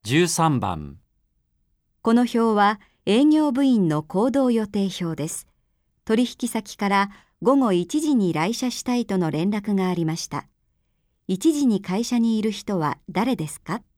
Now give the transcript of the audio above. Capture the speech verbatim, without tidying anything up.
じゅうさんばん。 この表は営業部員の行動予定表です。取引先からごごいちじに来社したいとの連絡がありました。いちじに会社にいる人は誰ですか？